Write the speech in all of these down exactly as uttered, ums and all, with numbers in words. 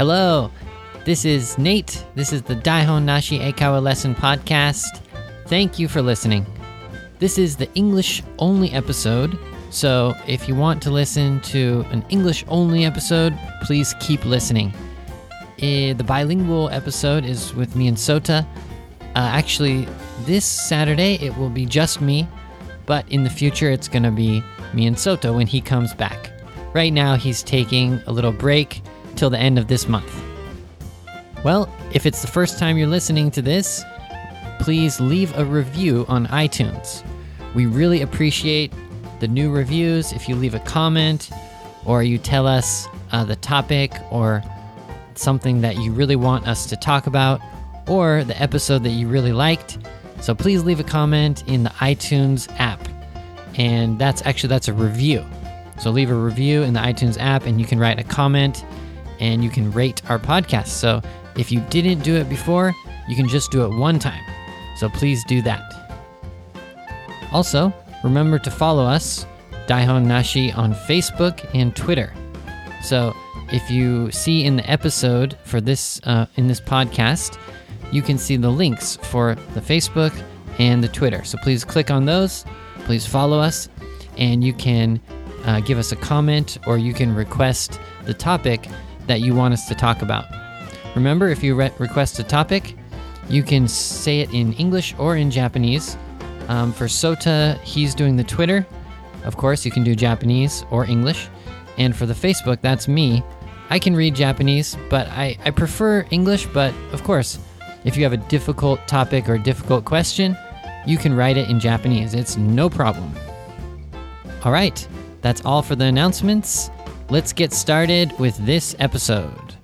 Hello, this is Nate. This is the Daihon Nashi Eikawa Lesson Podcast. Thank you for listening. This is the English-only episode, so if you want to listen to an English-only episode, please keep listening. Uh, the bilingual episode is with me and Sota. Uh, actually, this Saturday it will be just me, but in the future it's going to be me and Sota when he comes back. Right now he's taking a little break till the end of this month. Well, if it's the first time you're listening to this, please leave a review on iTunes. We really appreciate the new reviews. If you leave a comment or you tell us uh, the topic or something that you really want us to talk about or the episode that you really liked. So please leave a comment in the iTunes app. And that's actually, that's a review. So leave a review in the iTunes app and you can write a comment and you can rate our podcast. So if you didn't do it before, you can just do it one time. So please do that. Also, remember to follow us, Daihon Nashi, on Facebook and Twitter. So if you see in the episode for this, uh, in this podcast, you can see the links for the Facebook and the Twitter. So please click on those, please follow us, and you can uh, give us a comment or you can request the topic that you want us to talk about. Remember, if you re- request a topic, you can say it in English or in Japanese. Um, for Sota, he's doing the Twitter. Of course, you can do Japanese or English. And for the Facebook, that's me. I can read Japanese, but I, I prefer English. But of course, if you have a difficult topic or a difficult question, you can write it in Japanese. It's no problem. All right, that's all for the announcements. Let's get started with this episode.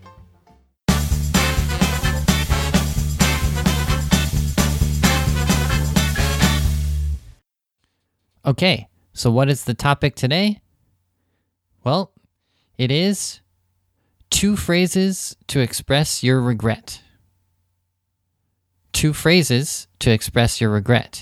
Okay, so what is the topic today? Well, it is two phrases to express your regret. Two phrases to express your regret.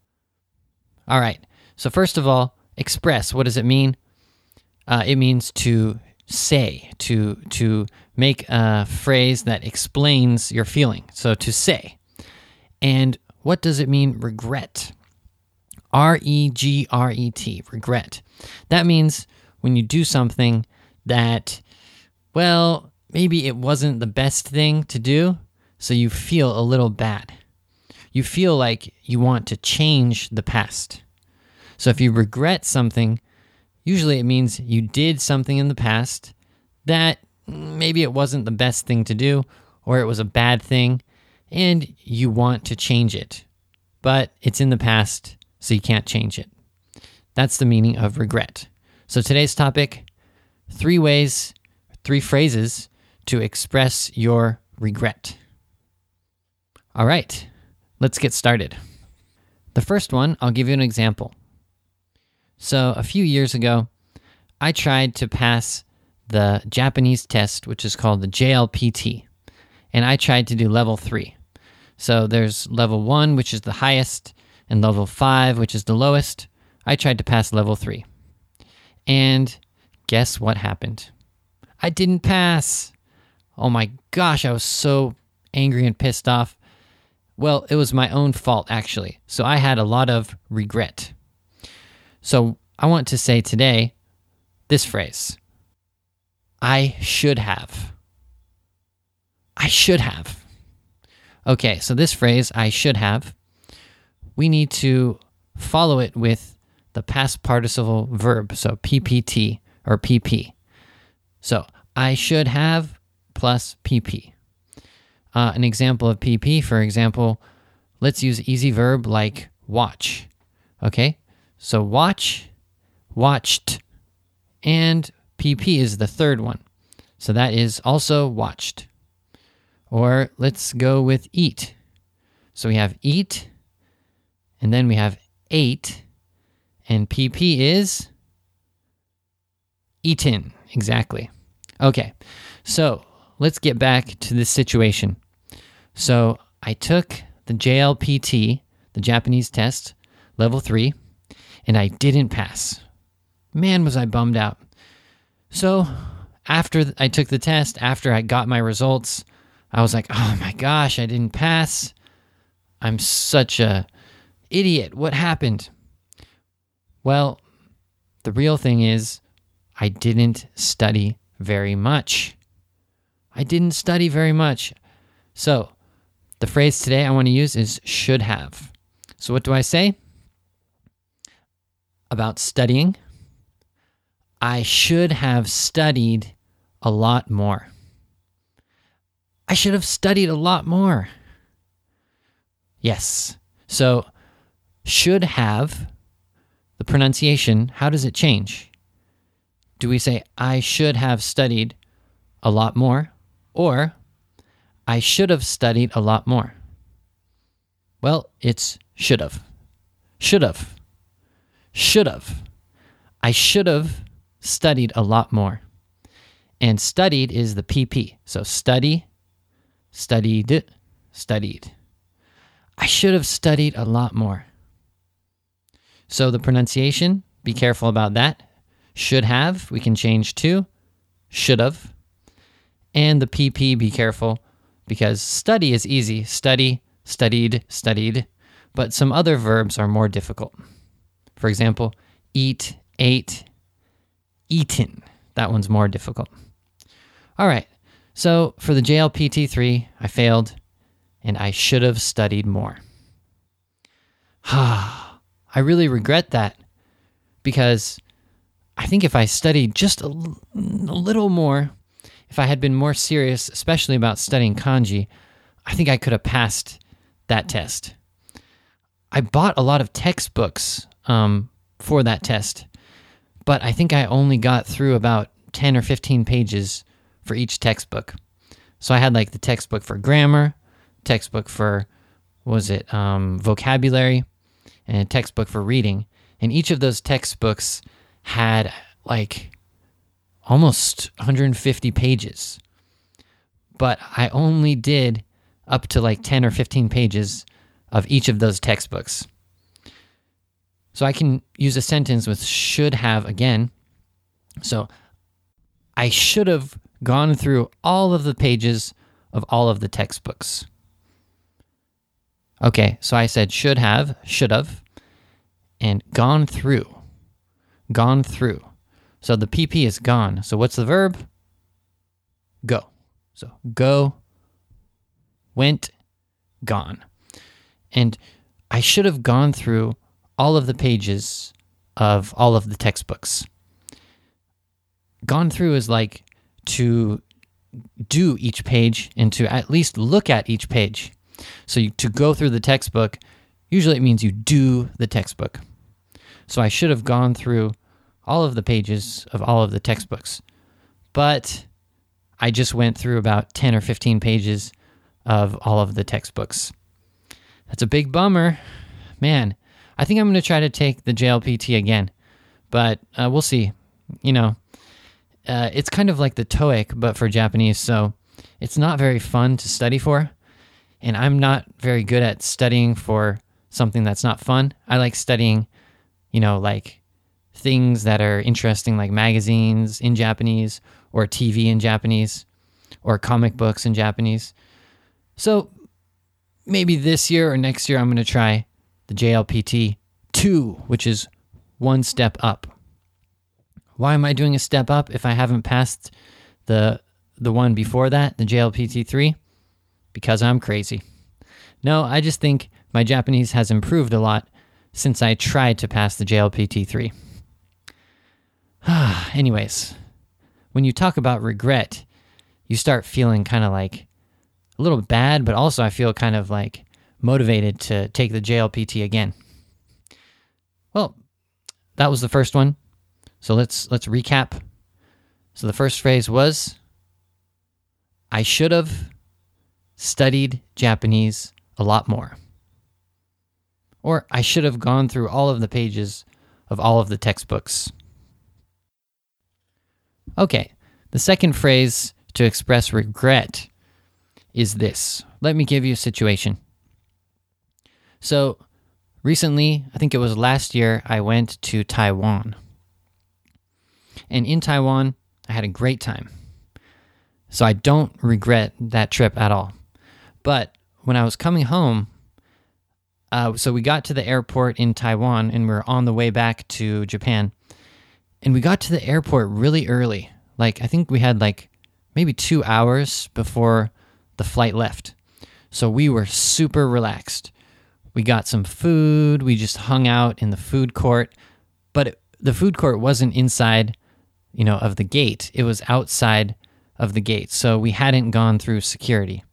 All right, so first of all, express, what does it mean? Uh, it means to say, to to make a phrase that explains your feeling. So to say. And what does it mean, regret? R E G R E T, regret. That means when you do something that, well, maybe it wasn't the best thing to do, so you feel a little bad. You feel like you want to change the past. So if you regret something, usually it means you did something in the past that maybe it wasn't the best thing to do, or it was a bad thing, and you want to change it. But it's in the past, so you can't change it. That's the meaning of regret. So today's topic, three ways, three phrases to express your regret. All right, let's get started. The first one, I'll give you an example. So a few years ago, I tried to pass the Japanese test, which is called the J L P T, and I tried to do level three. So there's level one, which is the highest, and level five, which is the lowest. I tried to pass level three. And guess what happened? I didn't pass. Oh my gosh, I was so angry and pissed off. Well, it was my own fault, actually. So I had a lot of regret. So I want to say today this phrase. I should have. I should have. Okay, so this phrase, I should have, we need to follow it with the past participle verb, so P P T or P P. So I should have plus P P. Uh, an example of P P, for example, let's use easy verb like watch. Okay, so watch, watched, and P P is the third one. So that is also watched. Or let's go with eat. So we have eat, and then we have ate, and P P is eaten. Exactly. Okay, so let's get back to this situation. So I took the J L P T, the Japanese test, level three, and I didn't pass. Man, was I bummed out. So after I took the test, after I got my results, I was like, oh my gosh, I didn't pass. I'm such a idiot. What happened? Well, the real thing is I didn't study very much. I didn't study very much. So the phrase today I want to use is should have. So what do I say about studying? I should have studied a lot more. I should have studied a lot more. Yes. So should have, the pronunciation, how does it change? Do we say I should have studied a lot more, or I should have studied a lot more? Well, it's should have. Should have. Should have. I should have studied a lot more. And studied is the P P. So study, studied, studied. I should have studied a lot more. So the pronunciation, be careful about that. Should have, we can change to should have. And the P P, be careful, because study is easy. Study, studied, studied. But some other verbs are more difficult. For example, eat, ate, eaten. That one's more difficult. All right. So for the J L P T three, I failed, and I should have studied more. I really regret that, because I think if I studied just a, l- a little more, if I had been more serious, especially about studying kanji, I think I could have passed that test. I bought a lot of textbooks um, for that test, but I think I only got through about ten or fifteen pages for each textbook. So I had like the textbook for grammar, textbook for, what was it, um, vocabulary, and a textbook for reading. And each of those textbooks had like almost one hundred fifty pages. But I only did up to like ten or fifteen pages of each of those textbooks. So I can use a sentence with should have again. So I should have gone through all of the pages of all of the textbooks. Okay, so I said should have, should have, and gone through. Gone through. So the P P is gone. So what's the verb? Go. So go, went, gone. And I should have gone through all of the pages of all of the textbooks. Gone through is like to do each page and to at least look at each page. So you, to go through the textbook, usually it means you do the textbook. So I should have gone through all of the pages of all of the textbooks. But I just went through about ten or fifteen pages of all of the textbooks. That's a big bummer. Man, I think I'm going to try to take the J L P T again. But uh, we'll see. You know, uh, it's kind of like the TOEIC, but for Japanese. So it's not very fun to study for. And I'm not very good at studying for something that's not fun. I like studying, you know, like things that are interesting, like magazines in Japanese, or T V in Japanese, or comic books in Japanese. So maybe this year or next year I'm going to try the J L P T two, which is one step up. Why am I doing a step up if I haven't passed the the one before that, the J L P T three? Because I'm crazy. No, I just think my Japanese has improved a lot since I tried to pass the J L P T three. Anyways, when you talk about regret, you start feeling kind of like a little bad, but also I feel kind of like motivated to take the J L P T again. Well, that was the first one. So let's let's recap. So the first phrase was, I should have studied Japanese a lot more. Or I should have gone through all of the pages of all of the textbooks. Okay, the second phrase to express regret is this. Let me give you a situation. So recently, I think it was last year, I went to Taiwan. And in Taiwan, I had a great time. So I don't regret that trip at all. But when I was coming home, uh, so we got to the airport in Taiwan and we we're on the way back to Japan. And we got to the airport really early. Like, I think we had like maybe two hours before the flight left. So we were super relaxed. We got some food. We just hung out in the food court. But it, the food court wasn't inside, you know, of the gate. It was outside of the gate. So we hadn't gone through security.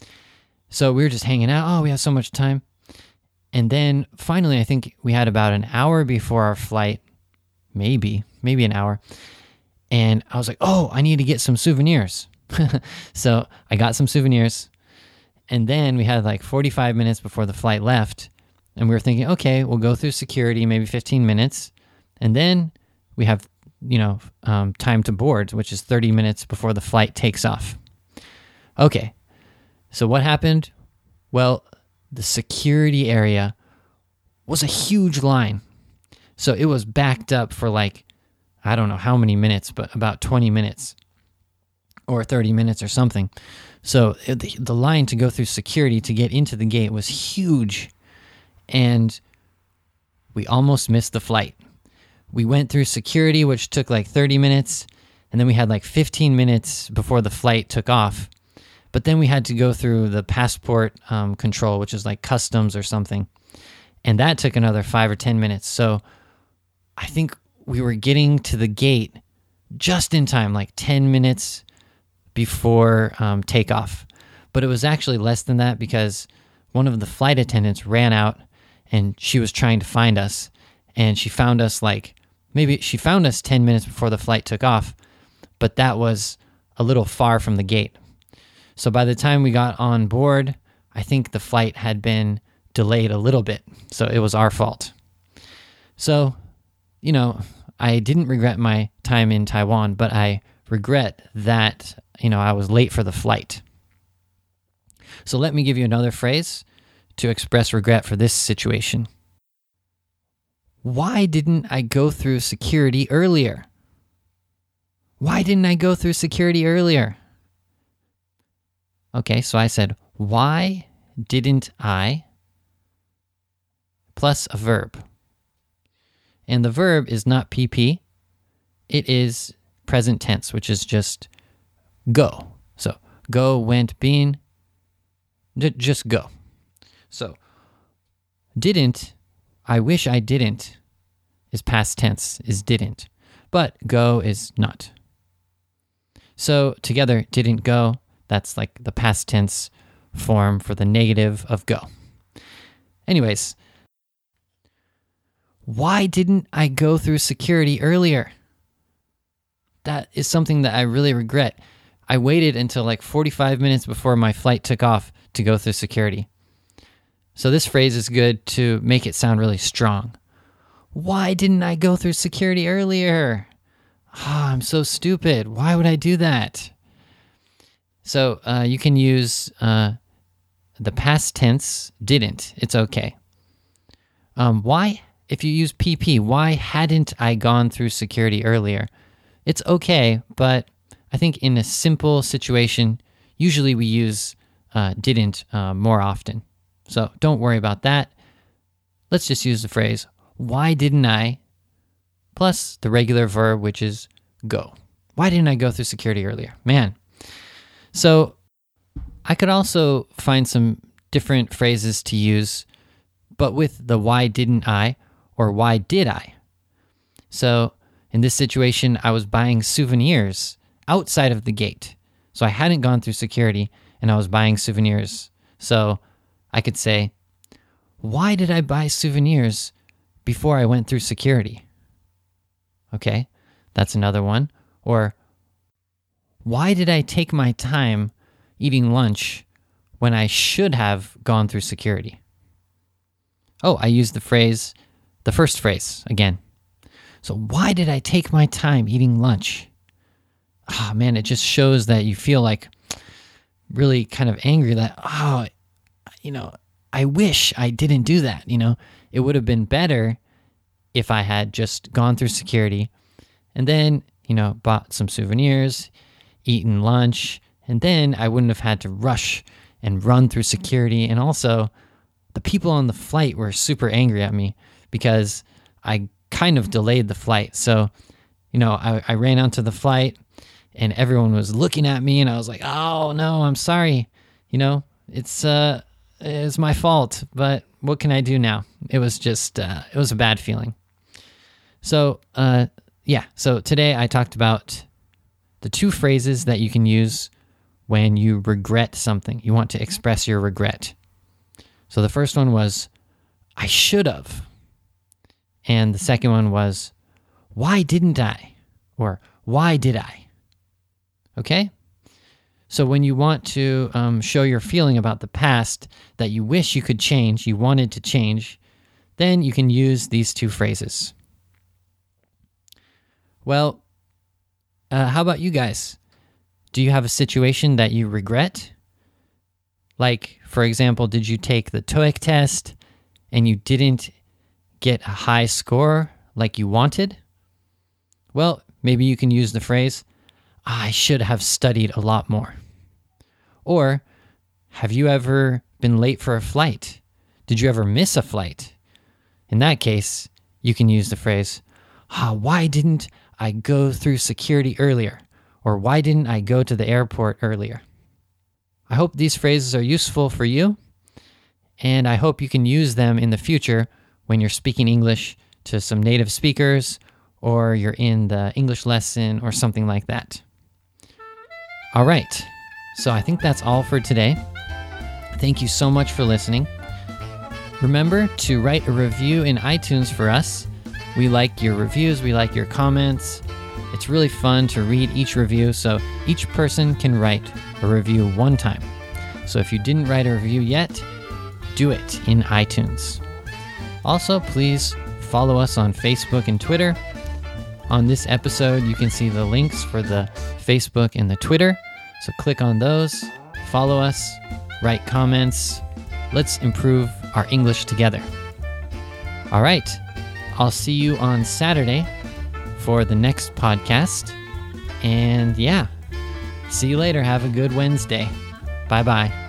So we were just hanging out. Oh, we have so much time. And then finally, I think we had about an hour before our flight. Maybe, maybe an hour. And I was like, oh, I need to get some souvenirs. So I got some souvenirs. And then we had like forty-five minutes before the flight left. And we were thinking, okay, we'll go through security, maybe fifteen minutes. And then we have, you know, um, time to board, which is thirty minutes before the flight takes off. Okay. So what happened? Well, the security area was a huge line. So it was backed up for like, I don't know how many minutes, but about twenty minutes or thirty minutes or something. So it, the, the line to go through security to get into the gate was huge. And we almost missed the flight. We went through security, which took like thirty minutes. And then we had like fifteen minutes before the flight took off. But then we had to go through the passport um, control, which is like customs or something. And that took another five or ten minutes. So I think we were getting to the gate just in time, like ten minutes before um, takeoff. But it was actually less than that because one of the flight attendants ran out and she was trying to find us. And she found us like, maybe she found us ten minutes before the flight took off, but that was a little far from the gate. So by the time we got on board, I think the flight had been delayed a little bit. So it was our fault. So, you know, I didn't regret my time in Taiwan, but I regret that, you know, I was late for the flight. So let me give you another phrase to express regret for this situation. Why didn't I go through security earlier? Why didn't I go through security earlier? Okay, so I said, why didn't I, plus a verb. And the verb is not P P. It is present tense, which is just go. So go, went, been, d- just go. So didn't, I wish I didn't, is past tense, is didn't. But go is not. So together, didn't go, that's like the past tense form for the negative of go. Anyways, why didn't I go through security earlier? That is something that I really regret. I waited until like forty-five minutes before my flight took off to go through security. So this phrase is good to make it sound really strong. Why didn't I go through security earlier? Ah, oh, I'm so stupid. Why would I do that? So uh, you can use uh, the past tense, didn't. It's okay. Um, why? If you use P P, why hadn't I gone through security earlier? It's okay, but I think in a simple situation, usually we use uh, didn't uh, more often. So don't worry about that. Let's just use the phrase, why didn't I, plus the regular verb, which is go. Why didn't I go through security earlier? Man. So I could also find some different phrases to use, but with the why didn't I or why did I? So in this situation, I was buying souvenirs outside of the gate. So I hadn't gone through security and I was buying souvenirs. So I could say, why did I buy souvenirs before I went through security? Okay, that's another one. Or, why did I take my time eating lunch when I should have gone through security? Oh, I used the phrase, the first phrase again. So why did I take my time eating lunch? Ah, oh, man, it just shows that you feel like really kind of angry that, oh, you know, I wish I didn't do that. You know, it would have been better if I had just gone through security and then, you know, bought some souvenirs, eaten lunch, and then I wouldn't have had to rush and run through security. And also, the people on the flight were super angry at me because I kind of delayed the flight. So, you know, I, I ran onto the flight and everyone was looking at me and I was like, oh no, I'm sorry. You know, it's, uh, it's my fault, but what can I do now? It was just, uh, it was a bad feeling. So, uh, yeah. So today I talked about the two phrases that you can use when you regret something. You want to express your regret. So the first one was, I should have. And the second one was, why didn't I? Or why did I? Okay? So when you want to um, show your feeling about the past that you wish you could change, you wanted to change, then you can use these two phrases. Well, uh, how about you guys? Do you have a situation that you regret? Like, for example, did you take the TOEIC test and you didn't get a high score like you wanted? Well, maybe you can use the phrase, I should have studied a lot more. Or, have you ever been late for a flight? Did you ever miss a flight? In that case, you can use the phrase, ah, why didn't I go through security earlier? Or why didn't I go to the airport earlier? I hope these phrases are useful for you, and I hope you can use them in the future when you're speaking English to some native speakers, or you're in the English lesson or something like that. All right, so I think that's all for today. Thank you so much for listening. Remember to write a review in iTunes for us. We like your reviews, we like your comments. It's really fun to read each review, so each person can write a review one time. So if you didn't write a review yet, do it in iTunes. Also, please follow us on Facebook and Twitter. On this episode, you can see the links for the Facebook and the Twitter. So click on those, follow us, write comments. Let's improve our English together. All right, I'll see you on Saturday for the next podcast. And yeah, see you later. Have a good Wednesday. Bye-bye.